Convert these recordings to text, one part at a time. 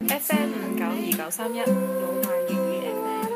FM 592931老萬粵語 FM。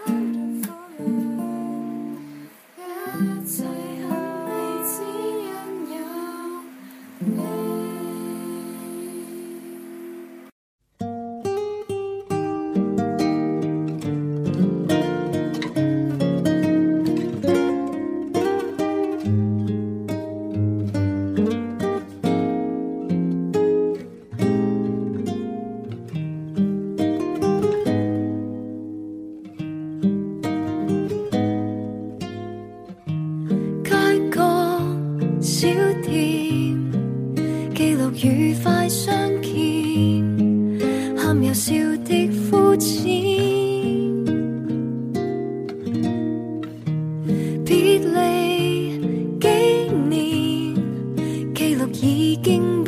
小店記錄愉快相見，喊又笑的膚淺，別離幾年，記錄已經不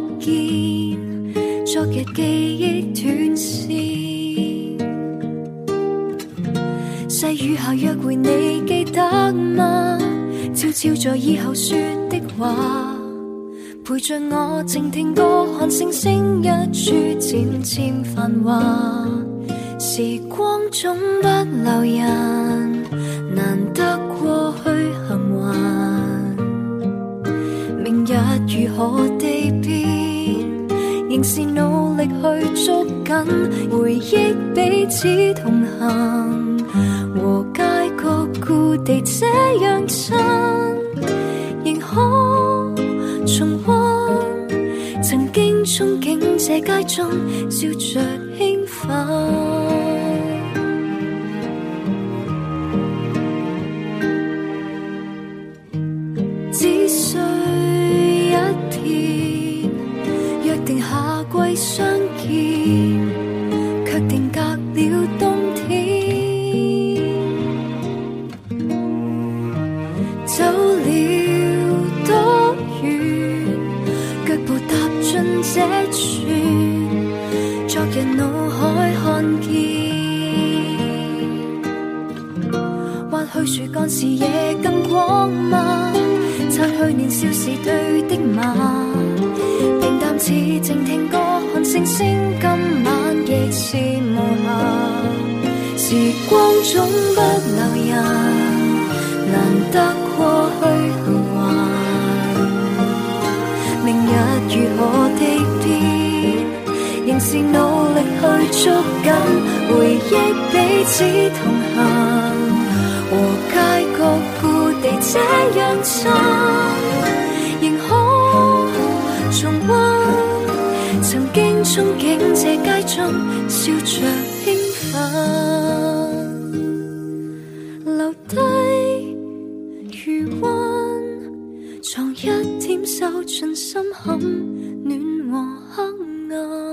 見，昨日記憶斷線，細雨下約會你記得嗎？悄悄在以後說的話，陪着我靜聽歌，看星星一處漸漸繁華。時光總不留人，難得過去幸還。明日如何地變，仍是努力去捉緊，回憶彼此同行，和街角故地這樣親，仍可重溫曾經憧憬這街中笑着興奮。只需一天，約定夏季相見，卻定隔了冬天。走了多遠，腳步踏進這處，昨日腦海看見。或許樹幹視野更廣嗎？擦去年少時對的罵，平淡似靜聽歌，看星星，今晚亦是無瑕。時光總不留人，難得過去幸還。明日如何地變，仍是努力去捉緊，回憶彼此同行，和街角故地這樣親，仍可重溫曾經憧憬這街中笑着興奮，留低餘溫，藏一點收進心坎，暖和黑暗。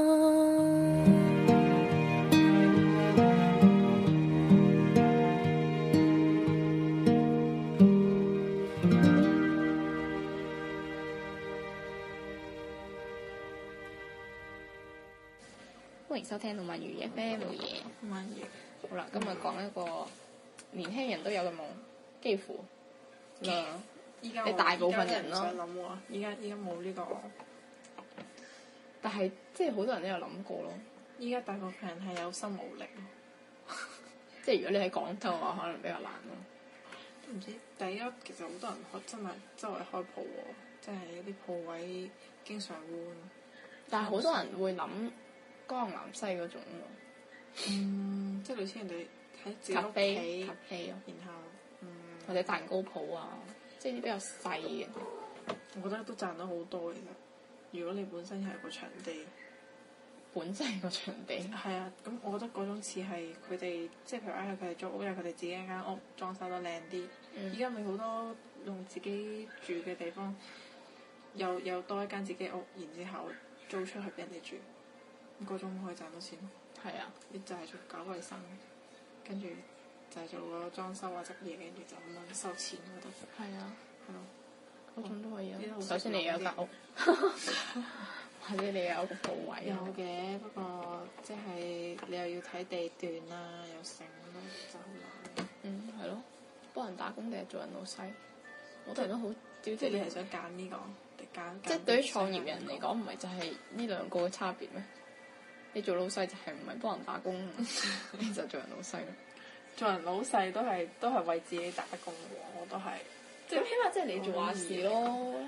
歡迎收聽《老萬粵語 FM》冇嘢。老萬粵好啦，今日講一個年輕人都有嘅夢，幾乎依家你大部分人咯。 想諗喎，依家冇呢個， 但係即係好多人都有諗過咯。 依家大部分人係有心無力咯。 即係如果你喺廣州嘅話，可能比較難咯。 都唔知，但係依家其實好多人真係周圍開鋪喎，即係啲鋪位經常換。 但係好多人會諗江南西嗰種咯。 即係類似人哋喺自己咖屋啡企， 咯， 然後或者蛋糕鋪啊，即係啲比較細嘅。 我覺得都賺到好多其實。如果你本身係個場地， 本身個場地係啊，咁我覺得嗰種似係佢哋，即係譬如嗌佢哋租屋，有佢哋自己一間屋裝修得靚啲。依家咪好多用自己住嘅地方，又多一間自己屋，然之後租出去俾人哋住，咁嗰種可以賺到錢。 係啊， 你就係做搞衞生，跟住就係做個裝修啊執嘢，跟住就咁樣收錢嗰度。 係啊， 係咯， 嗰種都可以啊。 呢首先你有間屋，或者你有個鋪位。 有嘅，不過即係你又要睇地段啦，又成咯，就好難。 係咯，幫人打工定係做人老細？好多人都好，即係你係想揀呢個定揀？ 即係對於創業人嚟講，唔係就係呢兩個嘅差別咩？ 你做老細就係唔係幫人打工，你就做人老細咯。 做人老細都係為自己打工喎，我都係。 咁起碼即係你做話事咯。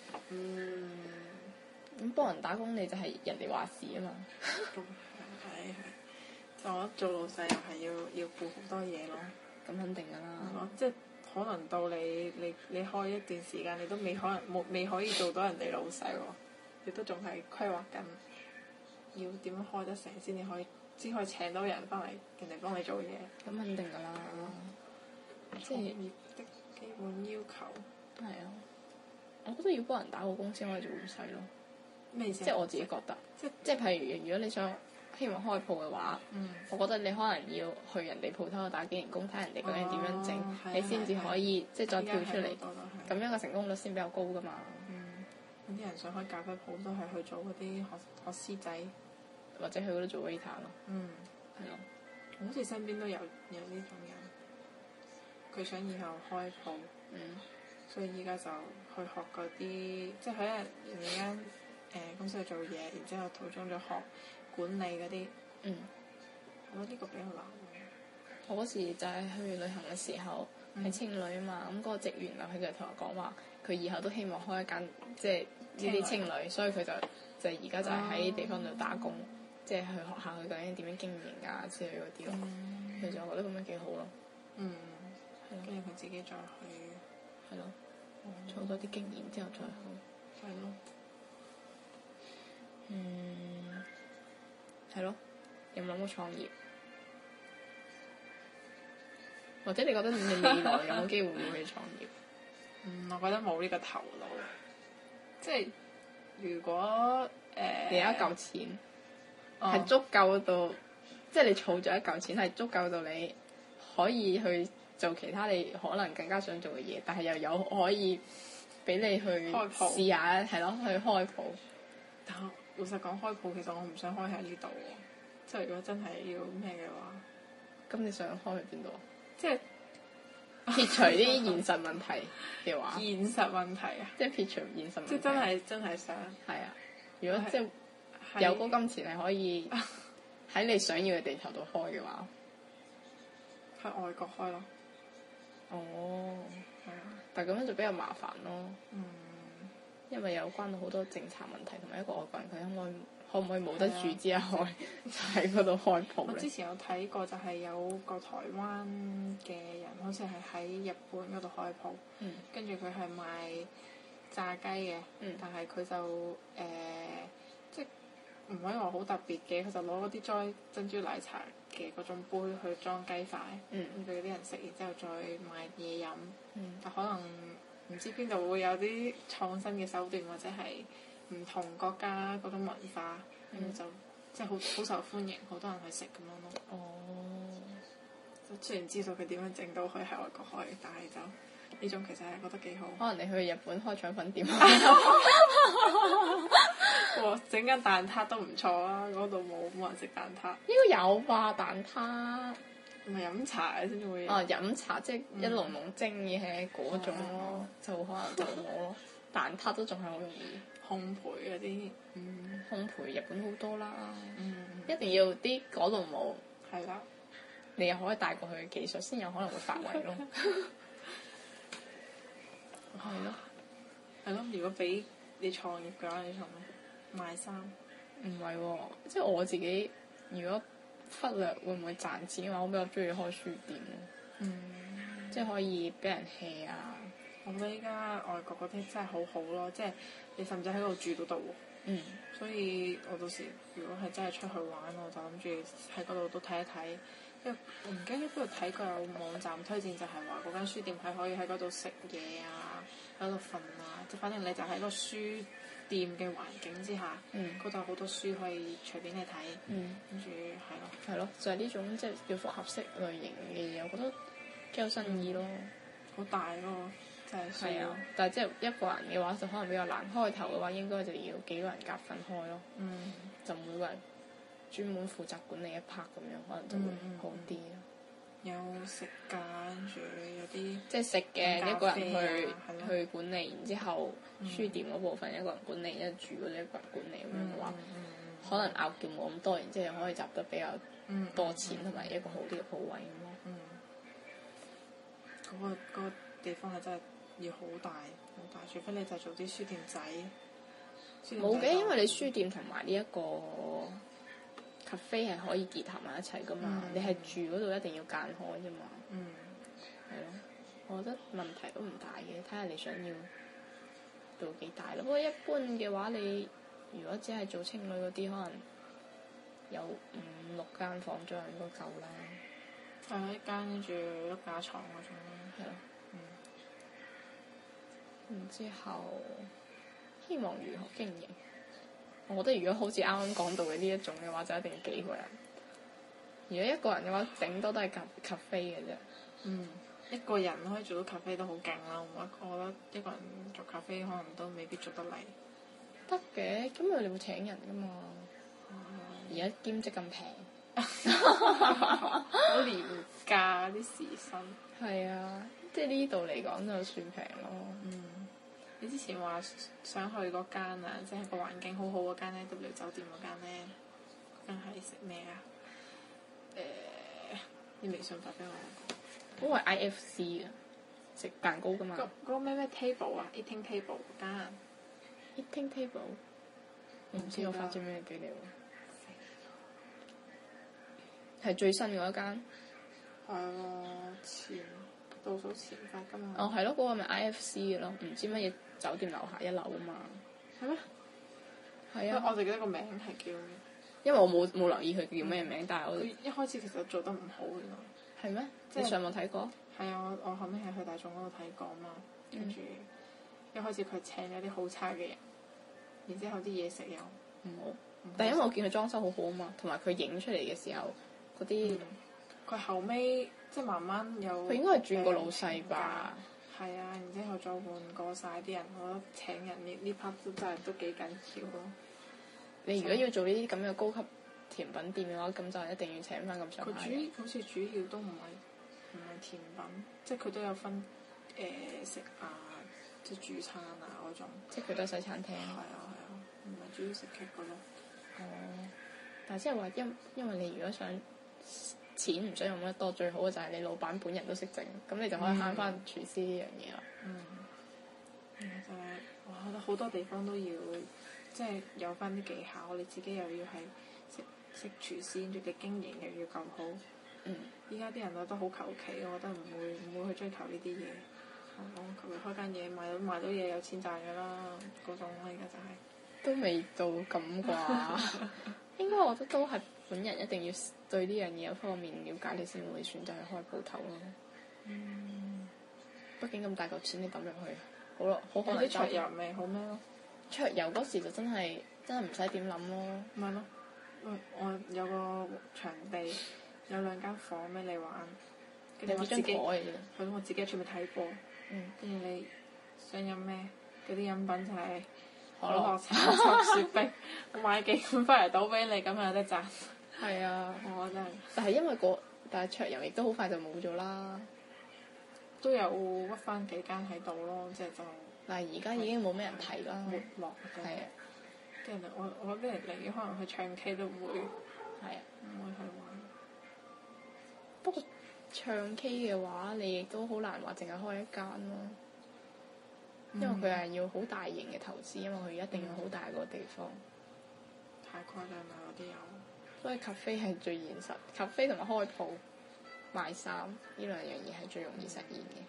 咁幫人打工你就係人哋話事啊嘛。 係。就我做老細又係要顧好多嘢咯。 咁肯定㗎啦。 即係可能到你開一段時間，你都未可以做到人哋老細喎，你都仲係規劃緊，要點樣開得成先可以請到人翻嚟，人哋幫你做嘢。 咁肯定㗎啦。即係業的基本要求。 係啊。我覺得要幫人打好工先可以做老細咯。 咩意思？ 即係我自己覺得。即係譬如，如果你想希望開鋪嘅話，我覺得你可能要去人哋鋪頭度打幾年工，睇人哋究竟點樣整，你先至可以即係再跳出嚟。咁樣嘅成功率先比較高㗎嘛。 有啲人想開咖啡鋪都係去做嗰啲學師仔， 或者去嗰度做 waiter 咯。係咯。 好似身邊都有呢種人，佢想以後開鋪，所以依家就去學嗰啲，即係喺人哋間公司度做嘢，然之後途中就學管理嗰啲。我覺得呢個比較難。 我嗰時就係去旅行嘅時候，係青旅啊嘛，咁嗰個職員啊，佢就同我講話，佢以後都希望開一間即係呢啲青旅，所以佢就而家就係喺地方度打工，即係去學下佢究竟點樣經營啊之類嗰啲咯。其實我覺得咁樣幾好咯。 跟住佢自己再去。 係咯。儲多啲經驗之後再去。 係咯。 係咯。有冇諗過創業？或者你覺得你未來有冇機會會去創業？ 我覺得冇呢個頭腦。即係如果你有一嚿錢係足夠到，即係你儲咗一嚿錢係足夠到你可以去做其他你可能更加想做嘅嘢，但係又有可以俾你去試下，係咯，去開鋪。 但係老實講，開鋪其實我唔想開喺呢度喎。即係如果真係要咩嘅話， 咁你想開去邊度啊？ 即係撇除啲現實問題嘅話， 現實問題啊！ 即係撇除現實問題。 即係真係想。係啊！ 如果即係有嗰金錢係可以喺你想要嘅地頭度開嘅話， 喺外國開咯。 哦。係啊！但係咁樣就比較麻煩咯。因為有關到好多政策問題，同埋一個外國人佢可唔可以冇得住之後就喺嗰度開鋪咧？ 我之前有睇過，就係有個台灣嘅人，好似係喺日本嗰度開鋪，跟住佢係賣炸雞嘅，但係佢就即係唔可以話好特別嘅，佢就攞嗰啲裝珍珠奶茶嘅嗰種杯去裝雞塊，咁俾啲人食，然之後再賣嘢飲，但可能唔知邊度會有啲創新嘅手段，或者係唔同國家嗰種文化，就即係好受歡迎，好多人去食咁樣咯。哦。雖然知道佢點樣整到佢喺外國開，但係就呢種其實係覺得幾好。 可能你去日本開腸粉店。 哇！整間蛋撻都唔錯啊！嗰度冇人食蛋撻。 應該有吧蛋撻。 唔係飲茶先至會有。 飲茶即係一籠籠蒸嘅嗰種咯，就可能就冇咯。蛋撻都仲係好容易。 烘焙嗰啲， 烘焙日本好多啦。一定要啲嗰度冇。 係啦。 你又可以帶過去嘅技術，先有可能會發圍咯。係咯。 係咯，如果俾你創業嘅話，你創咩？賣衫。 唔係喎，即係我自己，如果忽略會唔會賺錢嘅話，我比較中意開書店咯。即係可以俾人 hea 啊！ 我覺得依家外國嗰啲真係好好咯，即係你甚至喺度住到度喎。所以我到時如果係真係出去玩，我就諗住喺嗰度都睇一睇。因為我唔記得喺邊度睇過有網站推薦，就係話嗰間書店係可以喺嗰度食嘢啊，喺度瞓啊，即係反正你就喺個書店嘅環境之下，嗰度好多書可以隨便你睇，跟住係咯。 係咯，就係呢種即係叫複合式類型嘅嘢，我覺得幾有新意咯。 好大咯，真係。係啊， 但係即係一個人嘅話就可能比較難。開頭嘅話應該就要幾個人夾份開咯。就每個人專門負責管理一 part 咁樣，可能就會好啲咯。 有食㗎，跟住有啲即係食嘅一個人去管理，然之後書店嗰部分一個人管理，住嗰啲一個人管理咁樣嘅話， 可能拗撬冇咁多，然之後可以集得比較多錢同埋一個好啲嘅鋪位咁咯。 嗰個地方係真係要好大好大，除非你就做啲書店仔。 冇嘅，因為你書店同埋呢一個 cafe 係可以結合埋一齊噶嘛。你係住嗰度一定要間開啫嘛。係咯，我覺得問題都唔大嘅，睇下你想要到幾大咯。不過一般嘅話，你如果只係做青旅嗰啲，可能有5-6間房左右應該夠啦。 係啊，一間跟住碌架床嗰種咯。 係咯。然之後，希望如何經營？我覺得如果好似啱啱講到嘅呢一種嘅話，就一定要幾個人。如果一個人嘅話，頂多都係咖啡嘅啫。 一個人可以做到咖啡都好勁啦，我覺得一個人做咖啡可能都未必做得嚟。 得嘅，咁佢哋會請人噶嘛？而家兼職咁平， 好廉價啲時薪。 係啊，即係呢度嚟講就算平咯。 你之前話想去嗰間啊，即係個環境好好嗰間咧，W 酒店嗰間咧，嗰間係食咩啊？你微信發俾我。 嗰個係 IFC 嘅，食蛋糕噶嘛。 嗰個咩 table 啊 ，eating table 嗰間。 eating table。我唔知我發咗咩俾你喎。係最新嗰一間。 係喎，倒數前發噶嘛。 哦，係咯，嗰個咪 IFC 嘅咯，唔知乜嘢酒店樓下1樓啊嘛。係咩？係啊。 我就記得個名係叫。 因為我冇留意佢叫咩名，但係我。 佢一開始其實做得唔好嘅。 係咩？你上網睇過？係啊，我後尾係去大眾嗰度睇過嘛，跟住一開始佢請咗啲好差嘅人，然之後啲嘢食又唔好。 但係因為我見佢裝修好好啊嘛，同埋佢影出嚟嘅時候嗰啲。 佢後尾即係慢慢有。 佢應該係轉過老細吧？ 係啊，然之後再換過晒啲人，我覺得請人呢 part 都真係都幾緊要咯。 你如果要做呢啲咁嘅高級甜品店嘅話，咁就一定要請翻咁上下。 佢好似主要都唔係甜品，即係佢都有分食啊，即係主餐啊嗰種。即係佢都係西餐廳。係啊，唔係主要食劇嗰種。 但係即係話因為你如果想錢唔想用得多，最好嘅就係你老闆本人都識整，咁你就可以慳翻廚師呢樣嘢啦。 就係我覺得好多地方都要。即係有翻啲技巧，你自己又要係識廚師，跟住你經營又要夠好。依家啲人覺得好求其，我覺得唔會去追求呢啲嘢。我求其開間嘢賣到嘢有錢賺㗎啦，嗰種啦，而家就係。都未到咁啩。 應該我覺得都係本人一定要對呢樣嘢方面了解，你先會選擇去開鋪頭咯。畢竟咁大嚿錢你抌入去，好咯，好可能。 啲桌遊咪好咩咯？ 桌遊嗰時就真係唔使點諗咯。 咪咯，我有個場地，有2間房俾你玩。 有幾張台嘅啫。 係咯，我自己喺出面睇波。跟住你想飲咩？嗰啲飲品就係可樂、橙汁、雪碧，我買幾罐翻嚟倒俾你，咁又有得賺。 係啊。 我真係。 但係因為但係桌遊亦都好快就冇咗啦。 都有屈翻幾間喺度咯，即係就。 但係而家已經冇咩人睇啦， 沒落嘅。係啊，啲人我啲人嚟可能去唱 K 都唔會。係啊。唔會去玩。 不過唱 K 嘅話，你亦都好難話淨係開一間咯。因為佢係要好大型嘅投資，因為佢一定要好大個地方。 太誇張啦！嗰啲有。 所以 cafe 係最現實，cafe 同埋開鋪賣衫呢2樣嘢係最容易實現嘅。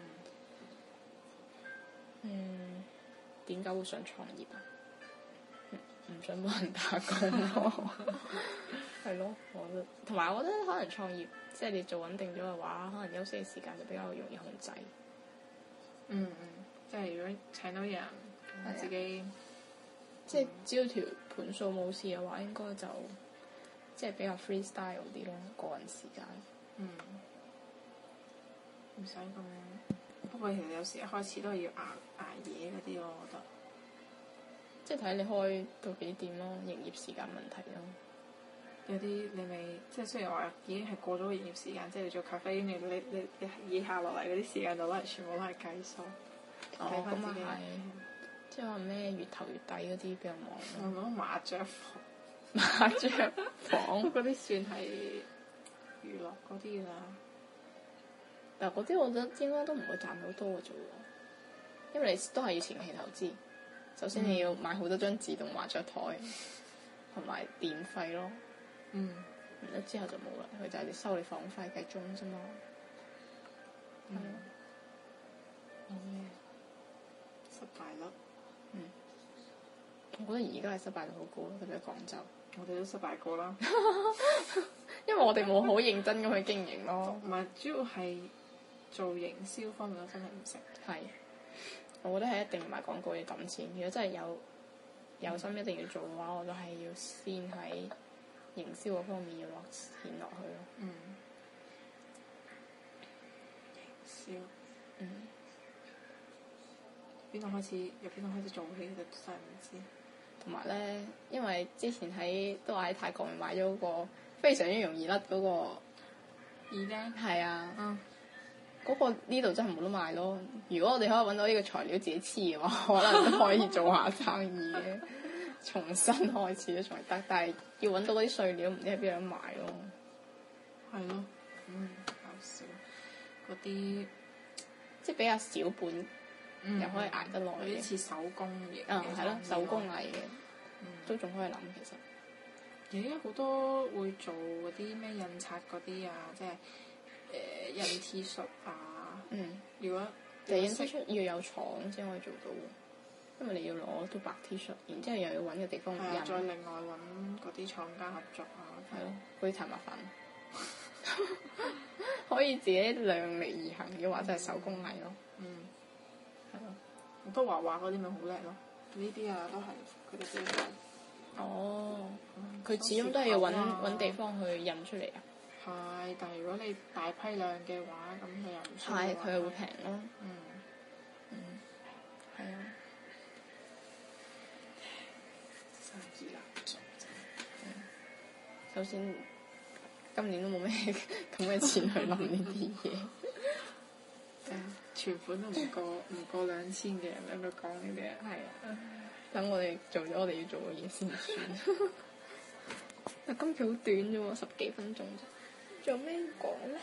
點解會想創業啊？唔想幫人打工咯。係咯，我覺得。同埋我覺得可能創業，即係你做穩定咗嘅話，可能休息嘅時間就比較容易控制。 即係如果請到人，自己即係只要條盤數冇事嘅話，應該就即係比較 freestyle 啲咯，個人時間。 唔使咁。不過其實有時一開始都係要捱夜嗰啲咯，我覺得。 即係睇你開到幾點咯，營業時間問題咯。 有啲你未即係雖然話已經係過咗個營業時間，即係你做咖啡，你以下落嚟嗰啲時間就攞嚟全部都係計數。 睇翻自己。即係話咩月頭月底嗰啲比較忙。 我覺得麻雀房麻雀房嗰啲算係娛樂嗰啲㗎啦。 但嗰啲我覺得應該都唔會賺好多嘅啫喎，因為你都係要前期投資。首先你要買好多張自動麻雀台，同埋電費咯。然之後就冇啦，佢就係收你房費計鐘啫嘛。 冇咩失敗率？ 我覺得而家係失敗率好高咯，特別喺廣州。 我哋都失敗過啦。 因為我哋冇好認真咁去經營咯。 唔係，主要係做營銷方面我真係唔識。 係，我覺得係一定唔係廣告要揼錢。如果真係有心一定要做嘅話，我都係要先喺營銷嗰方面要落錢落去咯。 營銷。邊度開始？由邊度開始做起？就真係唔知。 同埋咧，因為之前都話喺泰國買咗嗰個非常之容易甩嗰個耳釘。係啊。嗰個呢度真係冇得賣咯。如果我哋可以揾到呢個材料自己黐嘅話，可能都可以做下生意嘅，重新開始都仲係得。但係要揾到嗰啲碎料，唔知喺邊度買咯。 係咯。搞笑。嗰啲即係比較小本。又可以捱得耐嘅， 有啲似手工嘅。 係咯，手工藝嘅，都仲可以諗其實。 而家好多會做嗰啲咩印刷嗰啲啊，即係印 T 恤啊。如果印 T 恤要有廠先可以做到，因為你要攞到白 T 恤，然之後又要揾個地方印。 再另外揾嗰啲廠家合作啊。 係咯，嗰啲太麻煩。可以自己量力而行嘅話，就係手工藝咯。 好多畫畫嗰啲咪好叻咯，呢啲啊都係佢哋自己做。 佢始終都係要揾地方去印出嚟啊。 係，但係如果你大批量嘅話，咁佢又唔需要。 係，佢又會平咯。係啊。 生意難做啫。 首先，今年都冇咩咁嘅錢去諗呢啲嘢。 存款都唔過2000嘅人喺度講呢啲嘢。 係啊，等我哋做咗我哋要做嘅嘢先算。但今期好短啫喎，10幾分鐘啫。仲有咩講咧？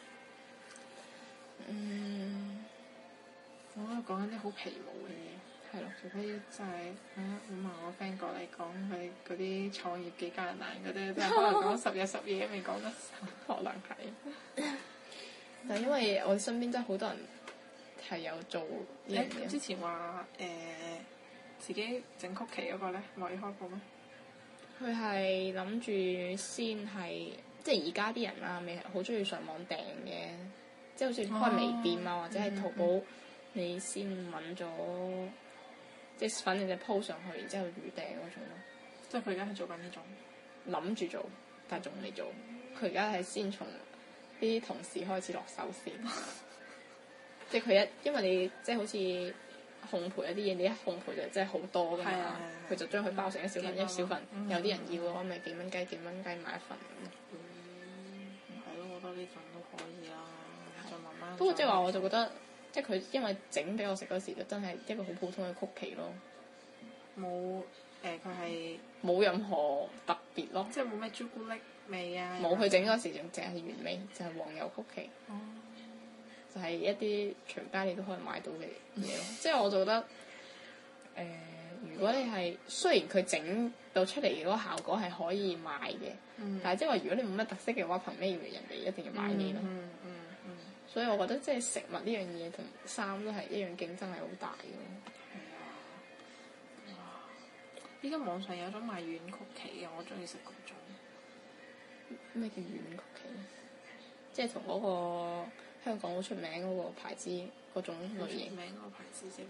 我喺度講緊啲好皮毛嘅嘢。係咯，除非真係我問我 friend 過嚟講佢嗰啲創業幾艱難嗰啲，真係可能講10日10夜未講得晒。 可能係。但係因為我身邊真係好多人係有做呢樣嘢。 之前話自己整曲奇嗰個咧，可以開鋪咩？ 佢係諗住先係，即係而家啲人啊，未係好中意上網訂嘅，即係好似開微店啊，或者係淘寶，你先揾咗，即係反正就 po 上去，然之後預訂嗰種咯。 即係佢而家係做緊呢種。諗住做，但係仲未做。佢而家係先從啲同事開始落手先。即係因為你即係好似烘焙一啲嘢，你一烘焙就真係好多㗎嘛。佢就將佢包成一小份一小份，有啲人要嘅話咪幾蚊雞買一份咁。 係咯，我覺得呢種都可以啦。再慢慢。 不過即係話我就覺得，即係佢因為整俾我食嗰時就真係一個好普通嘅曲奇咯。 冇佢係冇任何特別咯。 即係冇咩朱古力味啊。 冇，佢整嗰時仲淨係原味，就係黃油曲奇。就係一啲隨街你都可以買到嘅嘢咯。即係我就覺得，如果你係雖然佢整到出嚟嗰個效果係可以賣嘅，但係即係話如果你冇乜特色嘅話，憑咩要人哋一定要買你咯？所以我覺得即係食物呢樣嘢同衫都係一樣競爭係好大嘅。 係啊！依家網上有種賣軟曲奇嘅，我中意食嗰種。 咩叫軟曲奇？即係同嗰個香港好出名嗰個牌子嗰種類型。 出名嗰個牌子啫。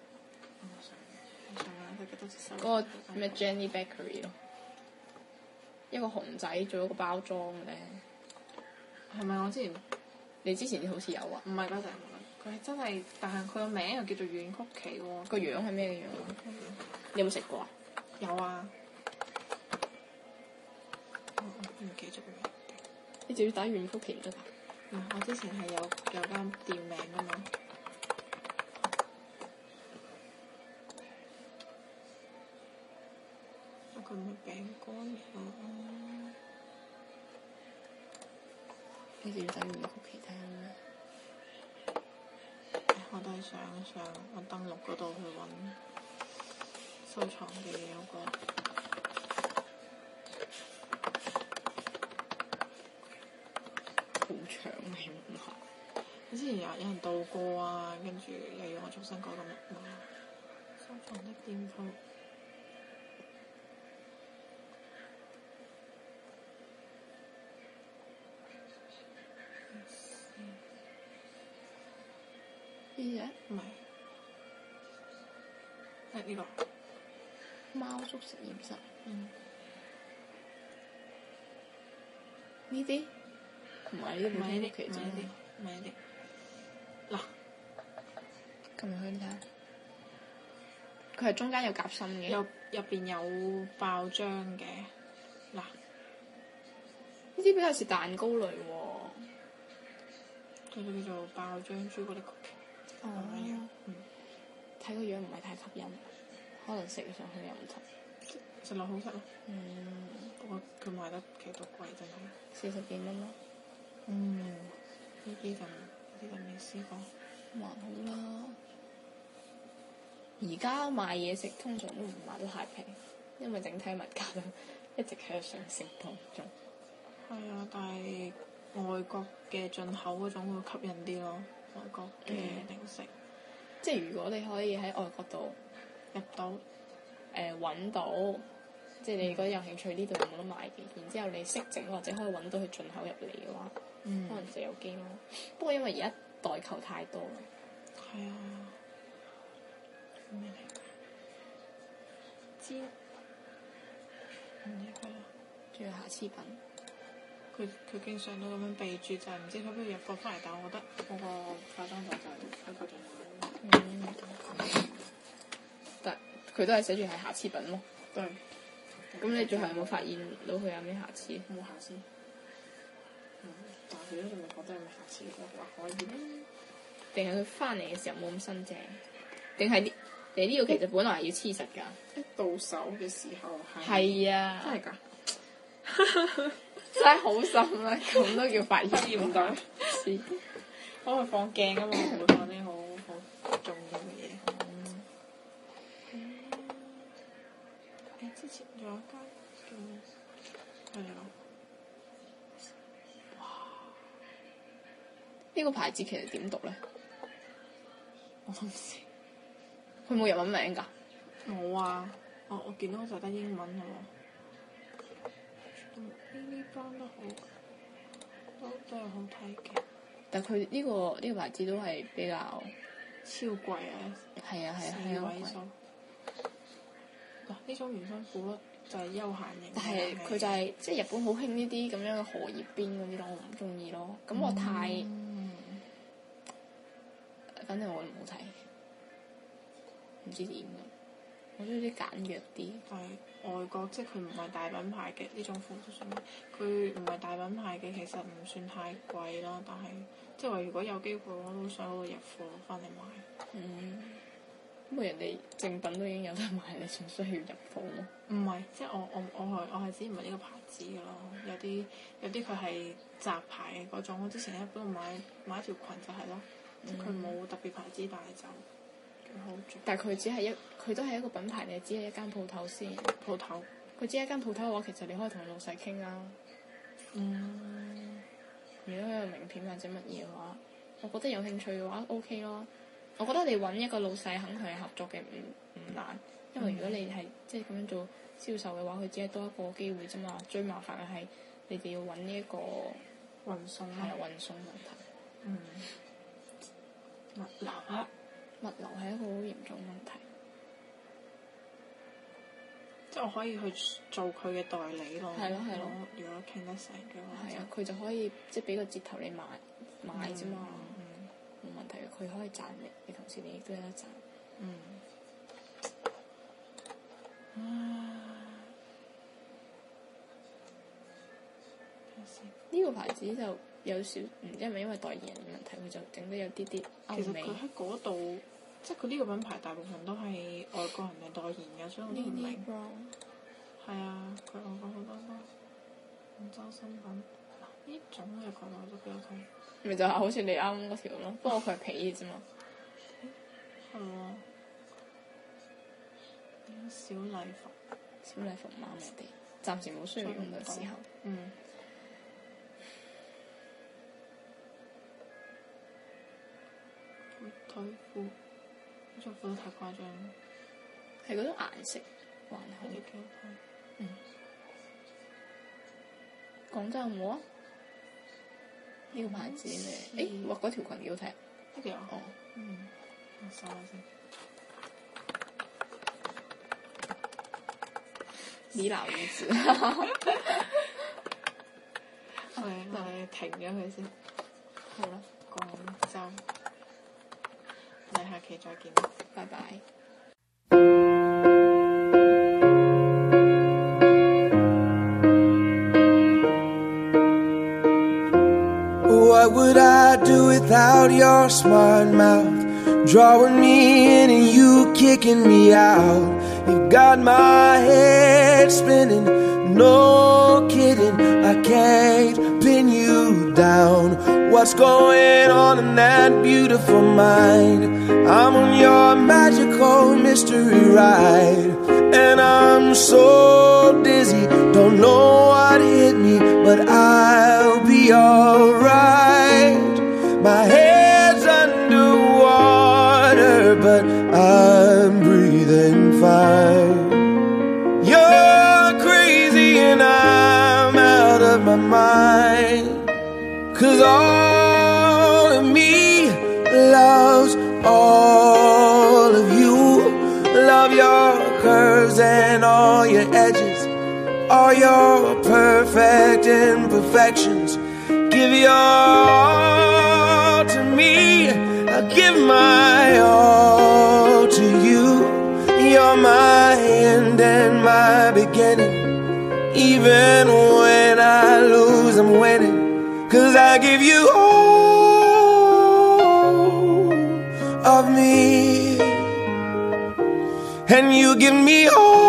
我上眼佢幾多隻手？ 嗰個咩 Jenny Bakery 咯，一個熊仔做一個包裝嘅咧。 係咪我之前？ 你之前好似有啊？ 唔係嗰陣，佢係真係，但係佢個名又叫做軟曲奇喎。 個樣係咩嘅樣啊？你有冇食過啊？ 有啊。我唔記咗個名。 你仲要打軟曲奇唔得㗎？ 我之前係有間店名㗎嘛。佢唔係餅乾啊！ 你哋要睇回曲奇睇下咩？ 我都係上我登錄嗰度去揾收藏嘅嘢有個。 好長啊！起碼之前有人到過啊，跟住又要我重新改個密碼。收藏的店鋪。 呢隻唔係，係呢個貓叔實驗室。 嗯。 呢啲唔係呢啲， 唔係呢啲， 其實唔係呢啲，唔係呢啲。嗱， 咁入去睇下，佢係中間有夾心嘅， 入邊有爆漿嘅。嗱， 呢啲比較似蛋糕類喎。 佢就叫做爆漿朱古力曲奇。 哦。 嗯。 睇個樣唔係太吸引，可能食上去又唔同。 食落好食咯。 嗯。 不過佢賣得幾多貴真係。 40幾蚊咯。 嗯。呢啲就未試過。 還好啦。而家買嘢食通常都唔買得太平，因為整體物價都一直喺度上升當中。 係啊，但係外國嘅進口嗰種會吸引啲咯，外國嘅零食。 即係如果你可以喺外國度入到揾到，即係你覺得有興趣呢度有冇得買嘅，然之後你識整或者可以揾到佢進口入嚟嘅話，可能就有機咯。不過因為而家代購太多啦。 係啊。咩嚟㗎？煎。唔知佢啦。 仲有瑕疵品。 佢經常都咁樣備註，就係唔知佢邊度入貨翻嚟，但我覺得嗰個化妝品就係喺佢度買。 但佢都係寫住係瑕疵品咯。 對。 咁你最後有冇發現到佢有咩瑕疵？ 冇瑕疵。但係佢都仲未覺得有咩瑕疵，我話可以。 定係佢翻嚟嘅時候冇咁新淨？定係你呢個其實本來係要黐實㗎？ 一到手嘅時候係。 係啊。 真係㗎。 真係好深啦，咁都叫發現唔到。我係放鏡啊嘛，唔會放啲好重要嘅嘢。之前仲有一間叫係啊。哇！ 呢個牌子其實點讀咧？ 我都唔知。 佢冇日文名㗎？ 冇啊！我見到就得英文喎。呢班都好，都係好睇嘅。 但佢呢個牌子都係比較超貴啊！ 係啊 4位數。嗱，呢種原生褲就係休閒型。 但係佢就係即係日本好興呢啲咁樣嘅荷葉邊嗰啲咯，我唔中意咯。咁我太，反正我唔好睇，唔知點嘅。我中意啲簡約啲。 但係外國即係佢唔係大品牌嘅呢種褲都算，佢唔係大品牌嘅，其實唔算太貴咯。但係即係話如果有機會，我都想入貨翻嚟買。 咁人哋正品都已經有得買，你仲需要入貨咯？ 唔係，即係我係指唔係呢個牌子嘅咯。有啲佢係雜牌嘅嗰種。我之前喺嗰度買一條裙就係咯，即係佢冇特別牌子，但係就幾好着。但係佢都係一個品牌，你只係一間鋪頭先。 鋪頭。 佢只係一間鋪頭嘅話，其實你可以同老細傾啦。如果有名片或者乜嘢嘅話，我覺得有興趣嘅話 OK 咯。我覺得你揾一個老細肯同你合作嘅唔難，因為如果你係即係咁樣做銷售嘅話，佢只係多一個機會啫嘛。最麻煩嘅係你哋要揾呢一個運送係運送問題。 物流係一個好嚴重問題。 即係我可以去做佢嘅代理咯。 係咯。 如果傾得成嘅話。 係啊，佢就可以即係俾個折頭你買啫嘛。冇問題嘅，佢可以賺你同時你亦都有得賺。呢個牌子就有少唔知係咪因為代言人嘅問題，佢就整得有啲啲歐美。 其實佢喺嗰度，即係佢呢個品牌大部分都係外國人嘅代言嘅，所以我都唔明。係係啊，佢講過好多都廣州新聞，呢種嘅角度都幾好睇。 咪就係好似你啱啱嗰條咯，不過佢係皮嘅啫嘛。 係喎。小禮服， 小禮服啱我哋，暫時冇需要用嘅時候。 嗯。腿褲，呢條褲都太誇張啦。 係嗰種顏色還好。 幾好睇。 嗯。廣州有冇啊？呢個牌子咧，誒，哇！嗰條裙幾好睇。 呢條哦。嗯。我搜下先。 李老魚子。 我哋停咗佢先。 好啦， 廣州。我哋下期再見。 拜拜。 What would I do without your smart mouth? Drawing me in and you kicking me out. You got my head spinning, no kidding. I can't pin you down. What's going on in that beautiful mind? I'm on your magical mystery ride, and I'm so dizzy, don't know what hit me, but I'll be alright. My head's underwater, but I'm breathing fine. You're crazy and I'm out of my mind, 'cause all of me loves all of you. Love your curves and all your edges, all your perfect imperfections. Give your all to me, I'll give my all to you. You're my end and my beginning. Even when I lose, I'm winning, 'cause I give you all of me, and you give me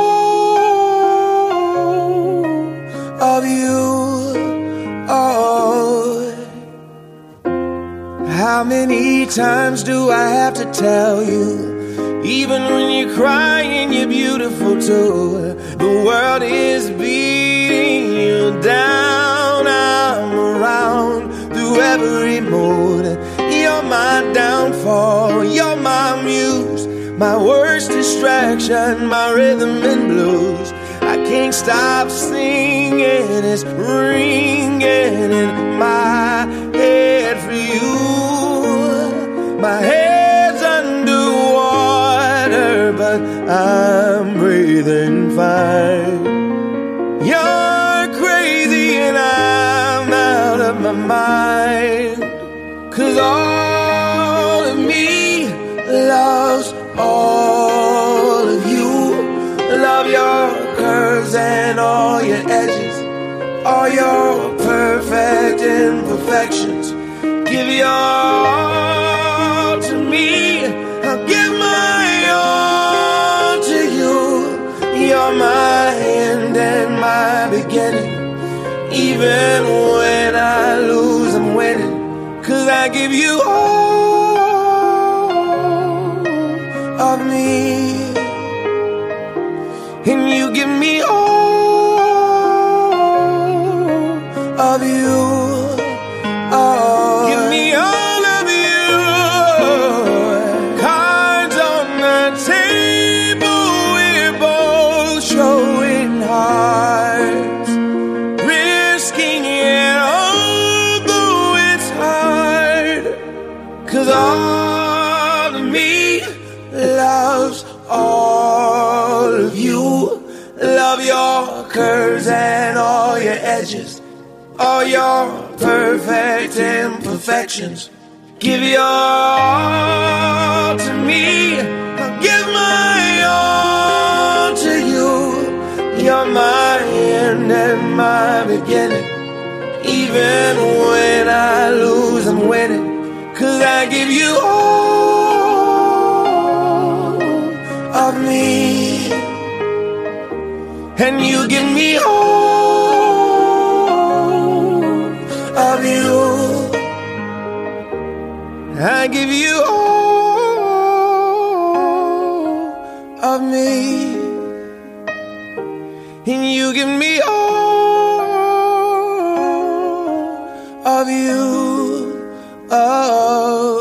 all of you. Oh, how many times do I have to tell you? Even when you're crying, you're beautiful too. The world is beating you down. I'm around through every mood. You're my downfall, you're my muse, my worst distraction, my rhythm and blues. I can't stop singing, it's ringing in my head for you. My head's underwater, but I'm breathing fine. You're crazy and I'm out of my mind, 'cause all of me loves all of you. Love your curves and all your edges, all your perfect imperfections. Give your all to me, I'll give my all to you. You're my end and my beginning. Even when I lose, I'm winning, 'cause I give you all of me, and you give me all of you. Oh, give me all of you. Cards on the table, we're both showing hearts, risking it although it's hard, 'cause all of me loves all of you. Love your curves and all your edges, all your perfect imperfections. Give your all to me, I'll give my all to you. You're my end and my beginning. Even when I lose, I'm winning, 'cause I give you all of me, and you give me all of you. I give you all of me, and you give me all of you. Oh.